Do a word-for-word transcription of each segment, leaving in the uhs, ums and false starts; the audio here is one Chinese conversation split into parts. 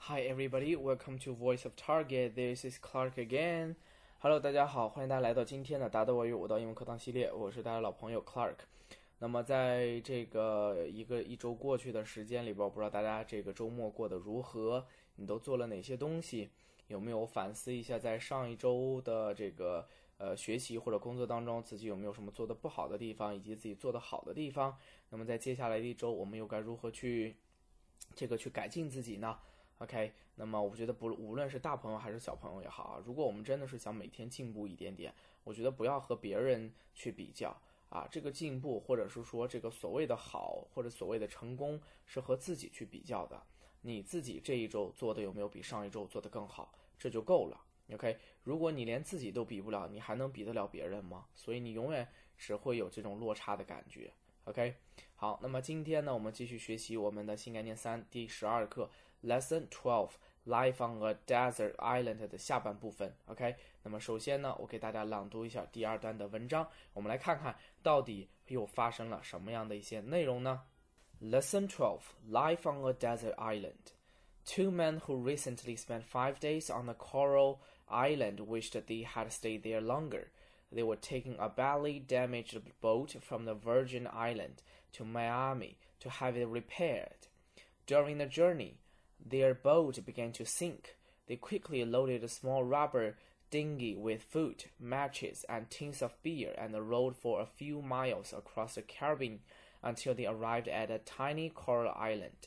Hi everybody, welcome to Voice of Target. This is Clark again. Hello， 大家好，欢迎大家来到今天的达德外语五道英文课堂系列，我是大家老朋友 Clark。那么在这个一个一周过去的时间里边，我不知道大家这个周末过得如何，你都做了哪些东西？有没有反思一下在上一周的这个呃学习或者工作当中，自己有没有什么做的不好的地方，以及自己做的好的地方？那么在接下来的一周，我们又该如何去这个去改进自己呢？OK， 那么我觉得不无论是大朋友还是小朋友也好啊，如果我们真的是想每天进步一点点，我觉得不要和别人去比较啊，这个进步或者是说这个所谓的好或者所谓的成功是和自己去比较的，你自己这一周做的有没有比上一周做得更好，这就够了。OK， 如果你连自己都比不了，你还能比得了别人吗？所以你永远只会有这种落差的感觉。OK， 好，那么今天呢，我们继续学习我们的新概念三第十二课。Lesson twelve, Life on a Desert Island 的下半部分 OK， 那么首先呢，我给大家朗读一下第二段的文章，我们来看看到底又发生了什么样的一些内容呢？ Lesson twelve, Life on a Desert Island. Two men who recently spent five days on a coral island wished they had stayed there longer. They were taking a badly damaged boat from the Virgin Island to Miami to have it repaired. During the journey,Their boat began to sink. They quickly loaded a small rubber dinghy with food, matches, and tins of beer and rowed for a few miles across the Caribbean until they arrived at a tiny coral island.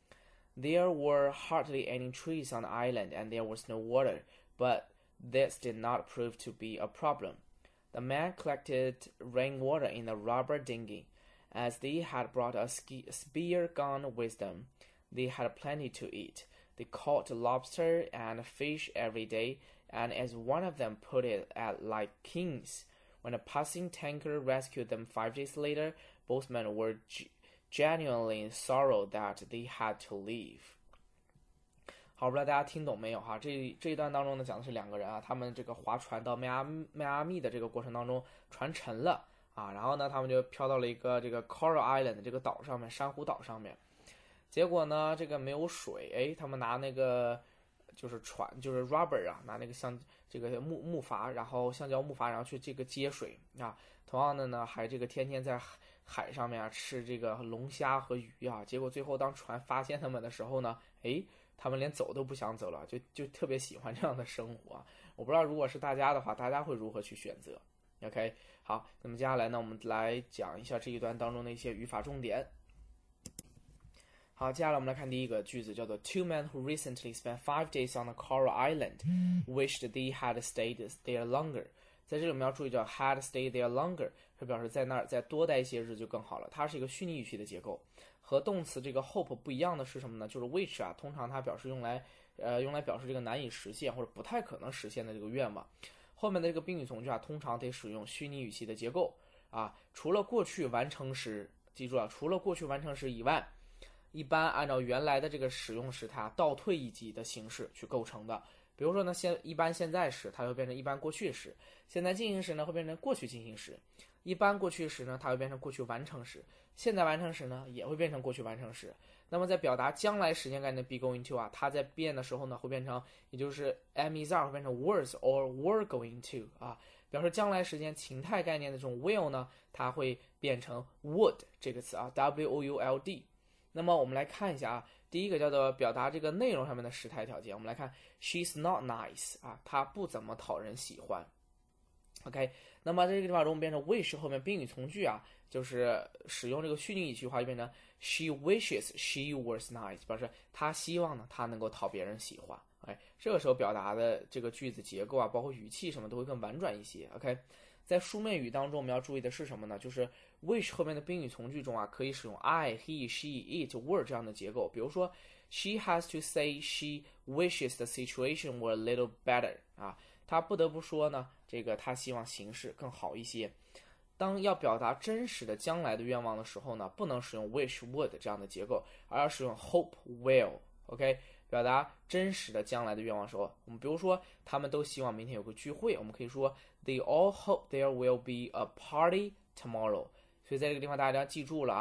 There were hardly any trees on the island and there was no water, but this did not prove to be a problem. The men collected rainwater in the rubber dinghy. As they had brought a spear gun with them,They had plenty to eat. They caught lobster and fish every day, and as one of them put it, at like kings. When a passing tanker rescued them five days later, both men were genuinely sorry that they had to leave. 好，不知道大家听懂没有哈？这这一段当中呢，讲的是两个人啊，他们这个划船到迈阿迈阿密的这个过程当中，船沉了啊，然后呢，他们就飘到了一个这个 Coral Island 这个岛上面，珊瑚岛上面。结果呢，这个没有水，哎，他们拿那个就是船，就是 rubber 啊，拿那个像这个木木筏，然后橡胶木筏，然后去这个接水啊。同样的呢，还这个天天在海上面啊吃这个龙虾和鱼啊。结果最后当船发现他们的时候呢，哎，他们连走都不想走了，就就特别喜欢这样的生活啊。我不知道如果是大家的话，大家会如何去选择 ？OK， 好，那么接下来呢，我们来讲一下这一段当中的一些语法重点。好，接下来我们来看第一个句子，叫做 Two men who recently spent five days on a coral island wished they had stayed there longer. 在这里我们要注意到 had stayed there longer 是表示在那儿再多待一些日就更好了，它是一个虚拟语气的结构。和动词这个 hope 不一样的是什么呢？就是 wish 啊，通常它表示用来呃用来表示这个难以实现或者不太可能实现的这个愿望。后面的这个宾语从句啊，通常得使用虚拟语气的结构啊，除了过去完成时，记住啊，除了过去完成时以外。一般按照原来的这个使用时态倒退一级的形式去构成的。比如说呢，现一般现在时它会变成一般过去时，现在进行时呢会变成过去进行时，一般过去时呢它会变成过去完成时，现在完成时呢也会变成过去完成时。那么在表达将来时间概念 be going to 啊，它在变的时候呢会变成，也就是 am is are 会变成 was or were going to 啊，表示将来时间情态概念的这种 will 呢，它会变成 would 这个词啊 w o u l d。那么我们来看一下啊，第一个叫做表达这个内容上面的时态条件。我们来看 she's not nice 啊，她不怎么讨人喜欢。OK， 那么这个地方如果我们变成 wish 后面宾语从句啊，就是使用这个虚拟语气话，就变成 she wishes she was nice， 表示她希望呢她能够讨别人喜欢。哎，这个时候表达的这个句子结构啊，包括语气什么都会更婉转一些。OK， 在书面语当中我们要注意的是什么呢？就是 wish 后面的宾语从句中啊，可以使用 I, he, she, it, were 这样的结构。比如说 she has to say she wishes the situation were a little better 啊，她不得不说呢，这个她希望形势更好一些。当要表达真实的将来的愿望的时候呢，不能使用 wish, would 这样的结构，而要使用 hope, will。 OK， 表达真实的将来的愿望的时候，我们比如说他们都希望明天有个聚会，我们可以说 they all hope there will be a party tomorrow。所以在这个地方大家要记住了啊，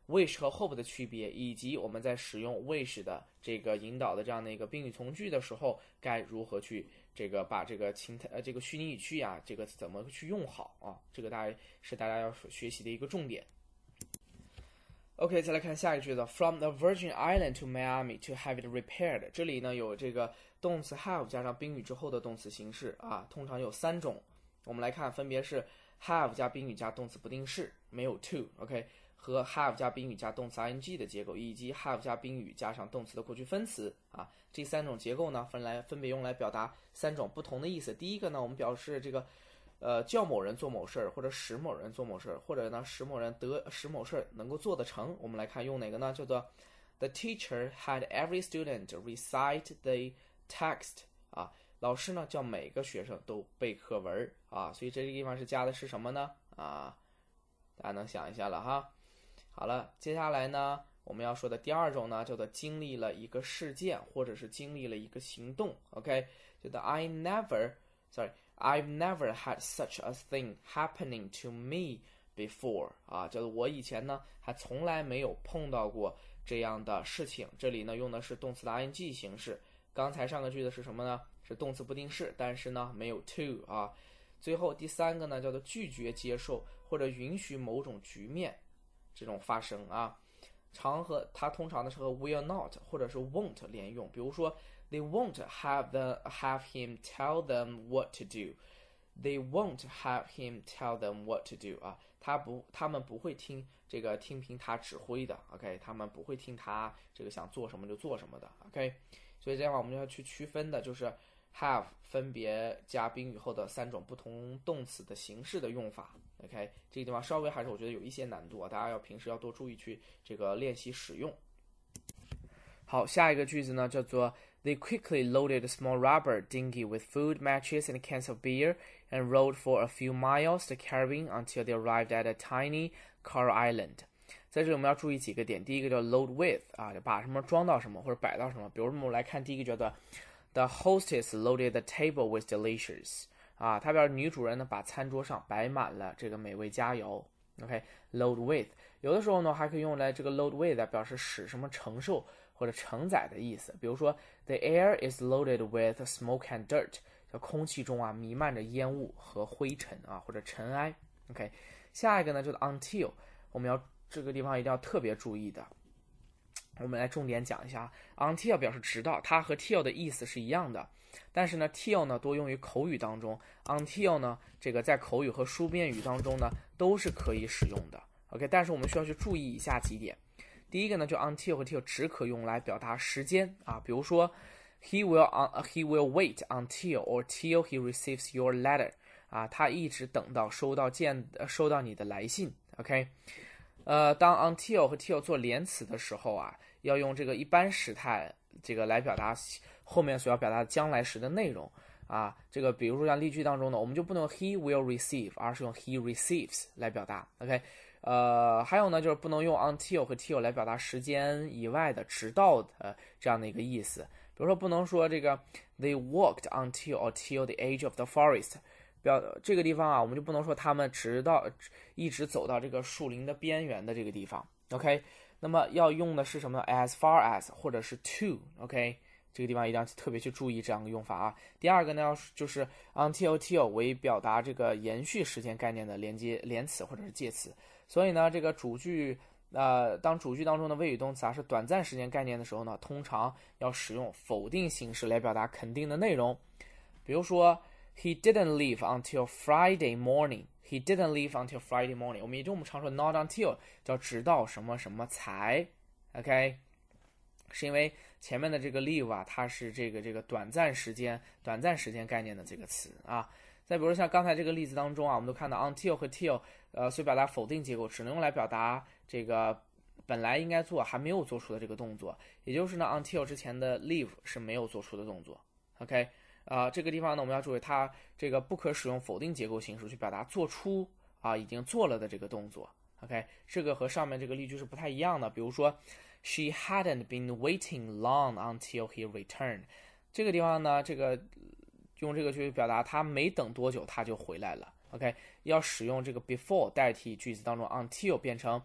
wish 和 hope 的区别，以及我们在使用 wish 的这个引导的这样的一个宾语从句的时候，该如何去这个把这个情态呃这个虚拟语句呀，这个怎么去用好啊？这个大家是大家要学习的一个重点。OK， 再来看下一个句子 ，From the Virgin Island to Miami to have it repaired。这里呢有这个动词 have 加上宾语之后的动词形式啊，通常有三种。我们来看，分别是 have 加宾语加动词不定式，没有 to，OK， 和 have 加宾语加动词 ing 的结构，以及 have 加宾语加上动词的过去分词啊。这三种结构呢，分来分别用来表达三种不同的意思。第一个呢，我们表示这个。呃，叫某人做某事儿，或者使某人做某事儿，或者呢使某人得使某事儿能够做得成。我们来看用哪个呢？叫做 The teacher had every student recite the text 啊，老师呢叫每个学生都背课文啊，所以这个地方是加的是什么呢？啊，大家能想一下了哈。好了，接下来呢我们要说的第二种呢叫做经历了一个事件，或者是经历了一个行动。OK， 叫做 I never sorry。I've never had such a thing happening to me before 啊，叫做我以前呢还从来没有碰到过这样的事情。这里呢用的是动词的 ing 形式。刚才上个句子是什么呢？是动词不定式，但是呢没有 to 啊。最后第三个呢叫做拒绝接受或者允许某种局面这种发生啊。常和它通常的是和 will not 或者是 won't 连用，比如说They won't have the have him tell them what to do. They won't have him tell them what to do 啊，他不，他们不会听这个听凭他指挥的 ，OK， 他们不会听他这个想做什么就做什么的 ，OK， 所以这样我们要去区分的就是 have 分别加宾语后的三种不同动词的形式的用法 ，OK， 这个地方稍微还是我觉得有一些难度啊，大家要平时要多注意去这个练习使用。好，下一个句子呢叫做 They quickly loaded a small rubber dinghy with food, matches, and cans of beer, and rowed for a few miles to the Caribbean until they arrived at a tiny Carl Island. 在这里我们要注意几个点，第一个叫 load with 啊，把什么装到什么或者摆到什么。比如我们来看第一个叫做 The hostess loaded the table with delicious 啊，它表示女主人呢把餐桌上摆满了这个美味佳肴。OK，load with 有的时候呢还可以用来这个 load with 来表示使什么承受或者承载的意思，比如说 The air is loaded with smoke and dirt， 叫空气中啊弥漫着烟雾和灰尘啊或者尘埃。OK， 下一个呢就是 until， 我们要这个地方一定要特别注意的，我们来重点讲一下 until 表示直到，它和 till 的意思是一样的，但是呢 till 呢多用于口语当中 ，until 呢这个在口语和书面语当中呢都是可以使用的。OK， 但是我们需要去注意以下几点。第一个呢，就 until 和 till 只可用来表达时间啊，比如说 he will uh, he will wait until or till he receives your letter 啊，他一直等到收到见收到你的来信。OK， 呃，当 until 和 till 做连词的时候啊，要用这个一般时态这个来表达后面所要表达的将来时的内容啊。这个比如说像例句当中呢，我们就不能用 he will receive， 而是用 he receives 来表达。OK。呃，还有呢，就是不能用 until 和 till 来表达时间以外的直到的这样的一个意思。比如说，不能说这个 they walked until or till the edge of the forest， 表这个地方啊，我们就不能说他们直到一直走到这个树林的边缘的这个地方。OK， 那么要用的是什么呢 ？as far as 或者是 to。OK， 这个地方一定要特别去注意这样的用法啊。第二个呢，要就是 until till 为表达这个延续时间概念的连接连词或者是介词。所以呢，这个主句，呃，当主句当中的谓语动词啊是短暂时间概念的时候呢，通常要使用否定形式来表达肯定的内容。比如说 ，He didn't leave until Friday morning. He didn't leave until Friday morning. 我们也就我们常说 not until 叫直到什么什么才 ，OK， 是因为前面的这个 leave 啊，它是这个这个短暂时间、短暂时间概念的这个词啊。再比如像刚才这个例子当中啊，我们都看到 until 和 till， 呃，所以表达否定结构，只能用来表达这个本来应该做还没有做出的这个动作，也就是呢 until 之前的 leave 是没有做出的动作。OK， 啊、呃，这个地方呢我们要注意，它这个不可使用否定结构形式去表达做出啊已经做了的这个动作。OK， 这个和上面这个例句是不太一样的。比如说 ，She hadn't been waiting long until he returned。这个地方呢，这个。用这个去表达他没等多久他就回来了 ，OK， 要使用这个 before 代替句子当中 until 变成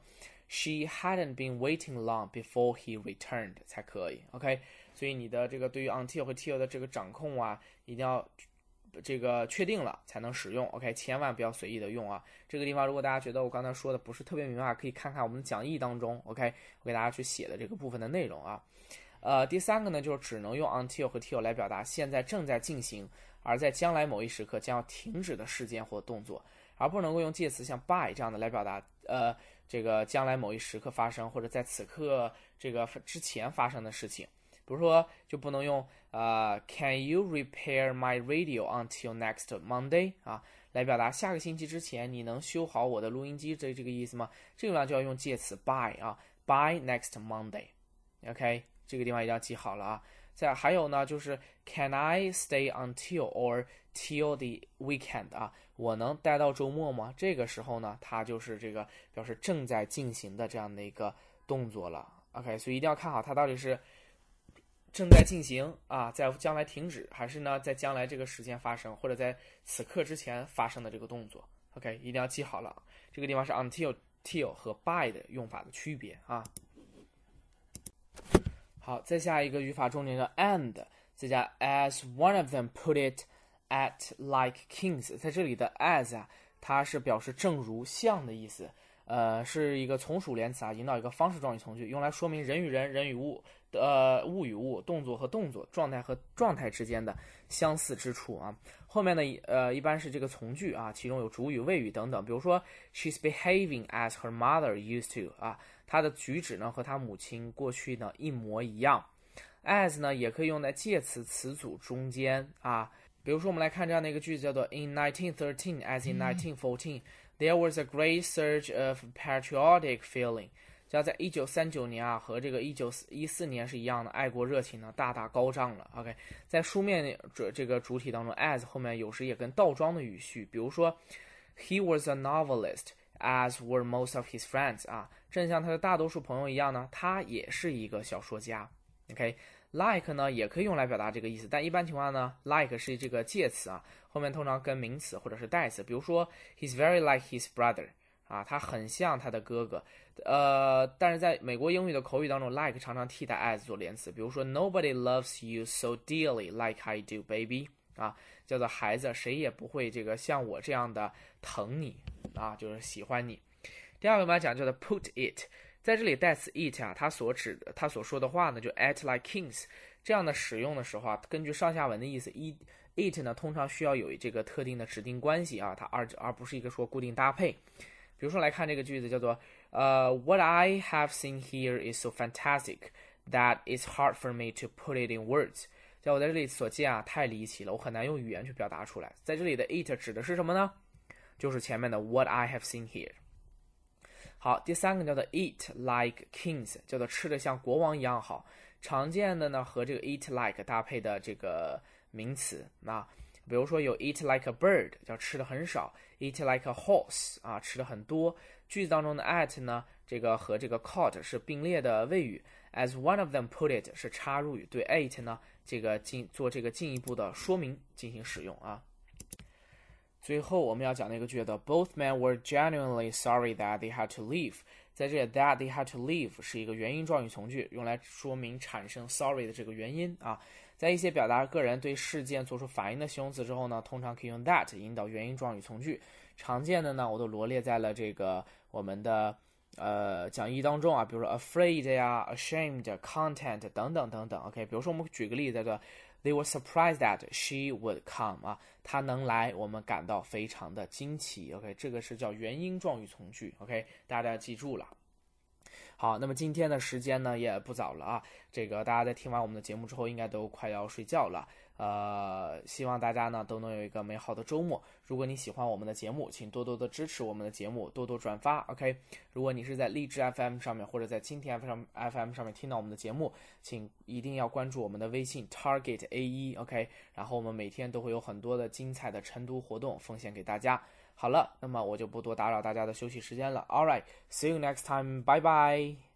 she hadn't been waiting long before he returned 才可以 OK， 所以你的这个对于 until 和 till 的这个掌控啊一定要这个确定了才能使用 OK， 千万不要随意的用啊。这个地方如果大家觉得我刚才说的不是特别明白，可以看看我们的讲义当中 OK， 我给大家去写的这个部分的内容啊。呃，第三个呢，就是只能用 until 和 till 来表达现在正在进行，而在将来某一时刻将要停止的事件或动作，而不能够用介词像 by 这样的来表达呃这个将来某一时刻发生或者在此刻这个之前发生的事情。比如说，就不能用呃 Can you repair my radio until next Monday 啊，来表达下个星期之前你能修好我的录音机，这这个意思吗？这个地方就要用介词 by 啊 ，by next Monday。OK。这个地方一定要记好了啊。再还有呢，就是 Can I stay until or till the weekend 啊？我能待到周末吗？这个时候呢，它就是这个表示正在进行的这样的一个动作了。OK， 所以一定要看好它到底是正在进行啊，在将来停止，还是呢在将来这个时间发生，或者在此刻之前发生的这个动作。OK， 一定要记好了。这个地方是 until、till 和 by 的用法的区别啊。好，再下一个语法重点的 and， 再加 as one of them put it at like kings， 在这里的 as 啊，它是表示正如像的意思，呃，是一个从属连词啊，引导一个方式状语从句，用来说明人与人、人与物、呃物与物、动作和动作、状态和状态之间的相似之处啊。后面呢，呃，一般是这个从句啊，其中有主语、谓语等等，比如说 she's behaving as her mother used to 啊。他的举止呢和他母亲过去呢一模一样。as 呢也可以用在介词词组中间啊，比如说我们来看这样的一个句子，叫做 In nineteen thirteen, as in nineteen fourteen, there was a great surge of patriotic feeling。就在一九三九年啊，和这个一九一四年是一样的，爱国热情呢大大高涨了。OK， 在书面这这个主体当中 ，as 后面有时也跟倒装的语序，比如说 He was a novelist。As were most of his friends 啊，正像他的大多数朋友一样呢，他也是一个小说家。OK，like 呢也可以用来表达这个意思，但一般情况呢 ，like 是这个介词啊，后面通常跟名词或者是代词，比如说 He's very like his brother 啊，他很像他的哥哥。呃，但是在美国英语的口语当中 ，like 常常替代 as 做连词，比如说 Nobody loves you so dearly like I do, baby 啊，叫做孩子，谁也不会这个像我这样的疼你。啊，就是喜欢你。第二个我们来讲叫做 put it， 在这里代词 it 啊，它所指的，它所说的话呢，就 at like kings 这样的使用的时候啊，根据上下文的意思 ，it it 呢通常需要有这个特定的指定关系啊，它而而不是一个说固定搭配。比如说来看这个句子叫做呃、uh, What I have seen here is so fantastic that it's hard for me to put it in words。在我在这里所见啊，太离奇了，我很难用语言去表达出来。在这里的 it 指的是什么呢？就是前面的 what I have seen here。 好，第三个叫做 eat like kings， 叫做吃得像国王一样好。常见的呢和这个 eat like 搭配的这个名词啊，比如说有 eat like a bird， 叫吃的很少， eat like a horse 啊，吃的很多。句子当中的 at 呢，这个和这个 caught 是并列的谓语， as one of them put it 是插入语，对 eat 呢这个进做这个进一步的说明进行使用啊。最后我们要讲的一个句子 Both men were genuinely sorry that they had to leave。 在这里 that they had to leave 是一个原因状语从句，用来说明产生 sorry 的这个原因啊。在一些表达个人对事件做出反应的形容词之后呢，通常可以用 that 引导原因状语从句。常见的呢我都罗列在了这个我们的呃讲义当中啊，比如说 afraid 呀 ashamed content 等等等等。 OK， 比如说我们举个例子叫做They were surprised that she would come 啊，她能来，我们感到非常的惊奇。OK， 这个是叫原因状语从句。OK， 大家要记住了。好，那么今天的时间呢也不早了啊，这个大家在听完我们的节目之后，应该都快要睡觉了。呃，希望大家呢都能有一个美好的周末。如果你喜欢我们的节目，请多多的支持我们的节目，多多转发。OK， 如果你是在荔枝 F M 上面或者在蜻蜓 F M 上面听到我们的节目，请一定要关注我们的微信 Target A 一 OK， 然后我们每天都会有很多的精彩的晨读活动奉献给大家。好了，那么我就不多打扰大家的休息时间了。All right, see you next time. Bye bye.